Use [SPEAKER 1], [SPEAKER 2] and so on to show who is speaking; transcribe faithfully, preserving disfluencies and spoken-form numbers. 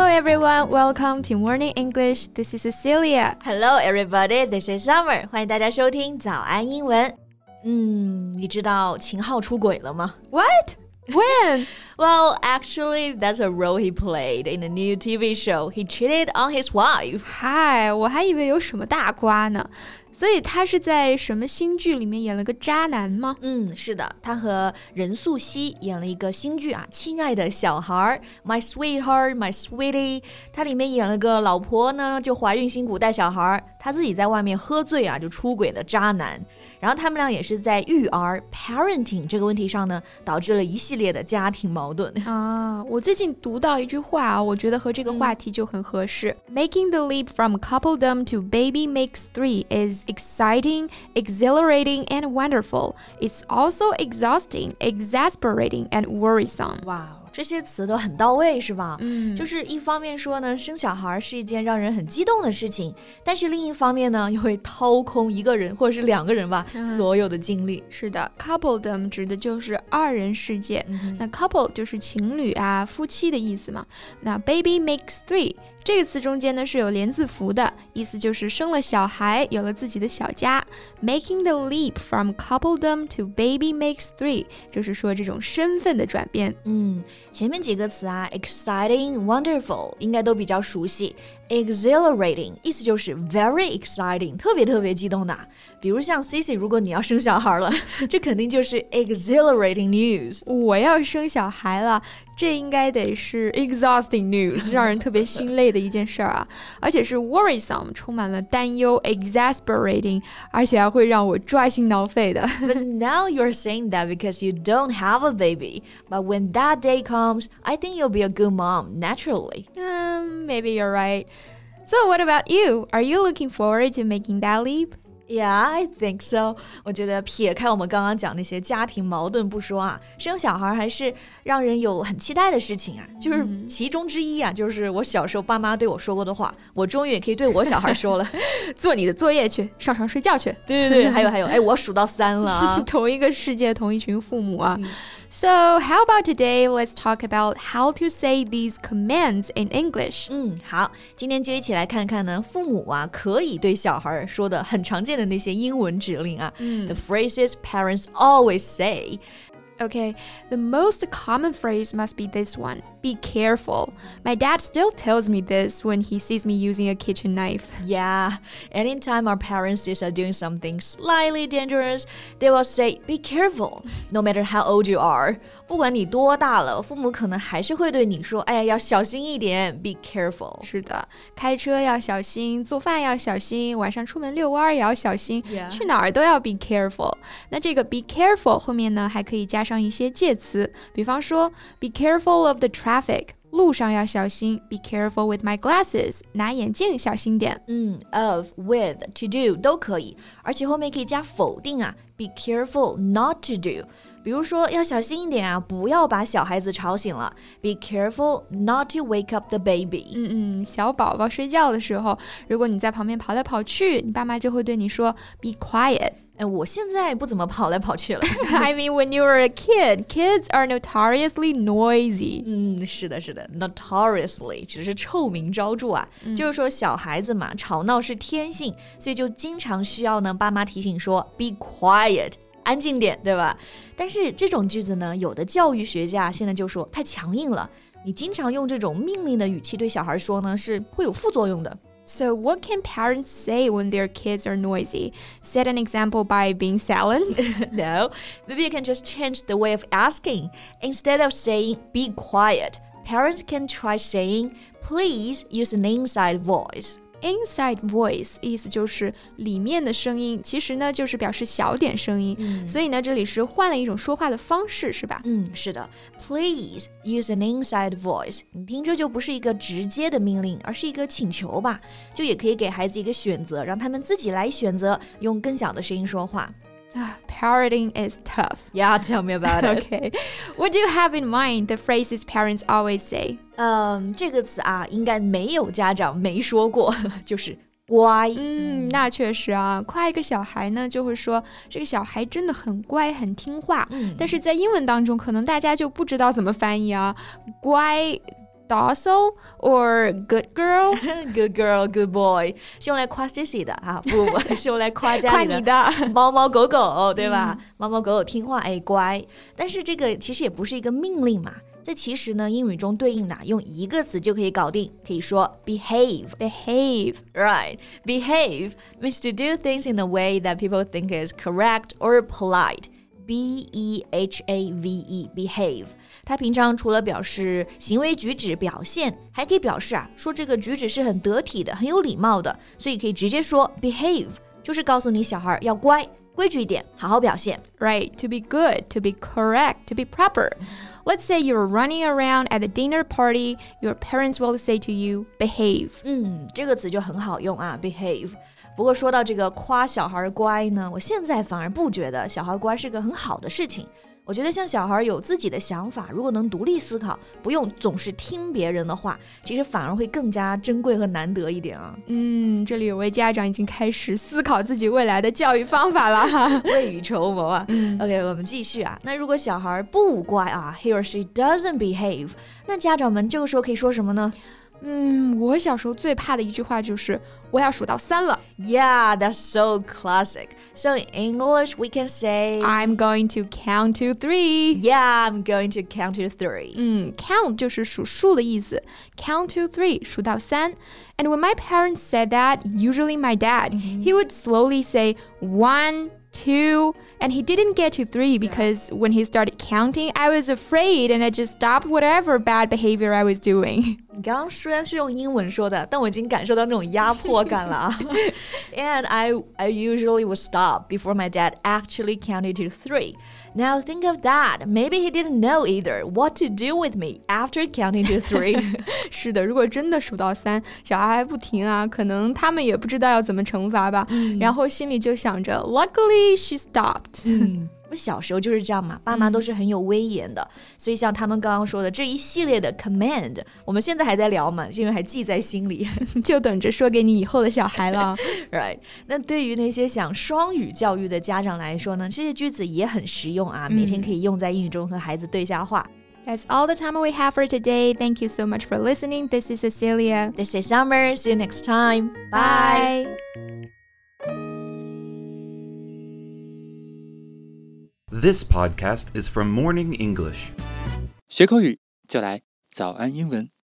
[SPEAKER 1] everyone, welcome to Morning English. This is Cecilia.
[SPEAKER 2] Hello everybody, this is Summer. 欢迎大家收听早安英文。嗯，你知道秦昊出轨了吗？
[SPEAKER 1] What? When?
[SPEAKER 2] Well, actually, that's a role he played in a new T V show. He cheated on his wife.
[SPEAKER 1] 嗨，我还以为有什么大瓜呢。所以他是在什么新剧里面演了个渣男吗？
[SPEAKER 2] 嗯，是的，他和任素汐演了一个新剧啊，亲爱的小孩 My Sweetheart, My Sweetie。他里面演了个老婆呢，就怀孕辛苦带小孩，他自己在外面喝醉啊，就出轨的渣男。然后他们俩也是在育儿 parenting 这个问题上呢，导致了一系列的家庭矛盾
[SPEAKER 1] 啊。我最近读到一句话啊，我觉得和这个话题就很合适。嗯、Making the leap from coupledom to baby makes three is exciting, exhilarating, and wonderful. It's also exhausting, exasperating, and worrisome.
[SPEAKER 2] 哇，这些词都很到位，是吧？
[SPEAKER 1] 嗯，
[SPEAKER 2] 就是一方面说呢，生小孩是一件让人很激动的事情，但是另一方面呢，又会掏空一个人或者是两个人吧、嗯、所有的精力。
[SPEAKER 1] 是的 ，coupledom 指的就是二人世界。嗯、那 couple 就是情侣啊、夫妻的意思嘛。那 baby makes three。这个词中间呢是有连字符的，意思就是生了小孩，有了自己的小家。Making the leap from coupledom to baby makes three， 就是说这种身份的转变。
[SPEAKER 2] 嗯，前面几个词啊 ，exciting, wonderful 应该都比较熟悉。Exhilarating 意思就是 very exciting， 特别特别激动的。比如像 Cici， 如果你要生小孩了，这肯定就是 exhilarating news。
[SPEAKER 1] 我要生小孩了，这应该得是 exhausting news， 让人特别心累的一件事儿啊，而且是 worrisome， 充满了担忧 exasperating， 而且还会让我抓心挠肺的。
[SPEAKER 2] But now you're saying that because you don't have a baby. But when that day comes, I think you'll be a good mom, naturally.
[SPEAKER 1] Um, maybe you're right. So what about you? Are you looking forward to making that leap?Yeah,
[SPEAKER 2] I think so. 我觉得撇开我们刚刚讲那些家庭矛盾不说啊，生小孩还是让人有很期待的事情啊。就是其中之一啊，就是我小时候爸妈对我说过的话，我终于也可以对我小孩说了。
[SPEAKER 1] 做你的作业去，上床睡觉去。
[SPEAKER 2] 对对对，还有还有，哎，我数到三了啊。
[SPEAKER 1] 同一个世界，同一群父母啊。So how about today? Let's talk about how to say these commands in English.
[SPEAKER 2] 嗯，好，今天就一起来看看呢，父母啊可以对小孩说的很常见的那些英文指令啊。嗯 The phrases parents always say.
[SPEAKER 1] Okay, the most common phrase must be this one. Be careful. My dad still tells me this when he sees me using a kitchen knife.
[SPEAKER 2] Yeah, anytime our parents see us doing something slightly dangerous, they will say, be careful, no matter how old you are. 不管你多大了，父母可能还是会对你说，哎呀，要小心一点 be careful.
[SPEAKER 1] 是的，开车要小心，做饭要小心，晚上出门遛弯也要小心，
[SPEAKER 2] yeah.
[SPEAKER 1] 去哪儿都要 be careful. 那这个 be careful 后面呢，还可以加上一些介词，比方说 be careful of the traffic， 路上要小心 be careful with my glasses， 拿眼镜小心点。
[SPEAKER 2] 嗯 of, with, to do 都可以，而且后面可以加否定啊 be careful not to do。比如说要小心一点啊，不要把小孩子吵醒了 Be careful not to wake up the baby。
[SPEAKER 1] 嗯嗯，小宝宝睡觉的时候，如果你在旁边跑来跑去，你爸妈就会对你说 Be quiet。
[SPEAKER 2] 哎，我现在不怎么跑来跑去了。
[SPEAKER 1] I mean when you were a kid, kids are notoriously noisy。
[SPEAKER 2] 嗯，是的是的 Notoriously 只是臭名昭著啊、嗯、就是说小孩子嘛，吵闹是天性，所以就经常需要呢爸妈提醒说 Be quiet，安静点，对吧？但是这种句子呢，有的教育学家现在就说太强硬了，你经常用这种命令的语气对小孩说呢，是会有副作用的。
[SPEAKER 1] So what can parents say when their kids are noisy? Set an example by being silent?
[SPEAKER 2] No, maybe you can just change the way of asking. Instead of saying, be quiet, parents can try saying, please use an inside voice.Inside
[SPEAKER 1] voice 意思就是里面的声音，其实呢就是表示小点声音、嗯、所以呢这里是换了一种说话的方式，是吧？
[SPEAKER 2] 嗯，是的 Please use an inside voice， 你听着就不是一个直接的命令，而是一个请求吧，就也可以给孩子一个选择，让他们自己来选择用更小的声音说话。
[SPEAKER 1] Parenting is tough.
[SPEAKER 2] Yeah, tell me about it.
[SPEAKER 1] Okay. What do you have in mind, the phrases parents always say?
[SPEAKER 2] 嗯，这个词啊，应该没有家长没说过，就是乖。
[SPEAKER 1] 嗯，那确实啊，夸一个小孩呢，就会说这个小孩真的很乖，很听话。嗯，但是在英文当中，可能大家就不知道怎么翻译啊。乖 docile or good girl?
[SPEAKER 2] Good girl, good boy 是用来夸 Stacy 的啊，不不不是用来夸家里的
[SPEAKER 1] 夸你的
[SPEAKER 2] 猫猫狗狗，对吧？猫猫狗狗听话，哎乖。但是这个其实也不是一个命令嘛，这其实呢英语中对应的用一个词就可以搞定，可以说 behave.
[SPEAKER 1] Behave.
[SPEAKER 2] Right. Behave means to do things in a way that people think is correct or polite. B E H A V E, behave. 它平常除了表示行为举止表现，还可以表示啊，说这个举止是很得体的，很有礼貌的，所以可以直接说 behave， 就是告诉你小孩要乖，规矩一点，好好表现。
[SPEAKER 1] Right, to be good, to be correct, to be proper. Let's say you're running around at a dinner party, your parents will say to you, behave.
[SPEAKER 2] 嗯，这个词就很好用啊 behave。不过说到这个夸小孩乖呢，我现在反而不觉得小孩乖是个很好的事情。我觉得像小孩有自己的想法，如果能独立思考，不用总是听别人的话，其实反而会更加珍贵和难得一点啊。
[SPEAKER 1] 嗯，这里有位家长已经开始思考自己未来的教育方法了，
[SPEAKER 2] 未雨绸缪啊。
[SPEAKER 1] 嗯
[SPEAKER 2] OK， 我们继续啊。那如果小孩不乖啊 ，he or she doesn't behave， 那家长们这个时候可以说什么呢？
[SPEAKER 1] 嗯，我小时候最怕的一句话就是我要数到三了。
[SPEAKER 2] Yeah, that's so classic. So in English, we can say
[SPEAKER 1] I'm going to count to three.
[SPEAKER 2] Yeah, I'm going to count to three.
[SPEAKER 1] 嗯 count 就是数数的意思 count to three 数到三 And when my parents said that, usually my dad, mm-hmm. he would slowly say one, two, and he didn't get to three because when he started counting, I was afraid and I just stopped whatever bad behavior I was doing.
[SPEAKER 2] 你刚刚虽然是用英文说的，但我已经感受到那种压迫感了啊。And I, I usually would stop before my dad actually counted to three. Now think of that. Maybe he didn't know either what to do with me after counting to three.
[SPEAKER 1] 是的，如果真的数到三，小孩还不停啊，可能他们也不知道要怎么惩罚吧，嗯、然后心里就想着 Luckily she stopped.
[SPEAKER 2] 嗯我小时候就是这样嘛，爸妈都是很有威严的、嗯、所以像他们刚刚说的这一系列的 command 我们现在还在聊嘛，因为还记在心里
[SPEAKER 1] 就等着说给你以后的小孩了
[SPEAKER 2] Right， 那对于那些想双语教育的家长来说呢，这些句子也很实用啊、嗯、每天可以用在英语中和孩子对下话。
[SPEAKER 1] That's all the time we have for today. Thank you so much for listening. This is Cecilia.
[SPEAKER 2] This is Summer. See you next time. Bye.
[SPEAKER 1] Bye.
[SPEAKER 3] This podcast is from Morning English.
[SPEAKER 4] 学口语就来早安英文。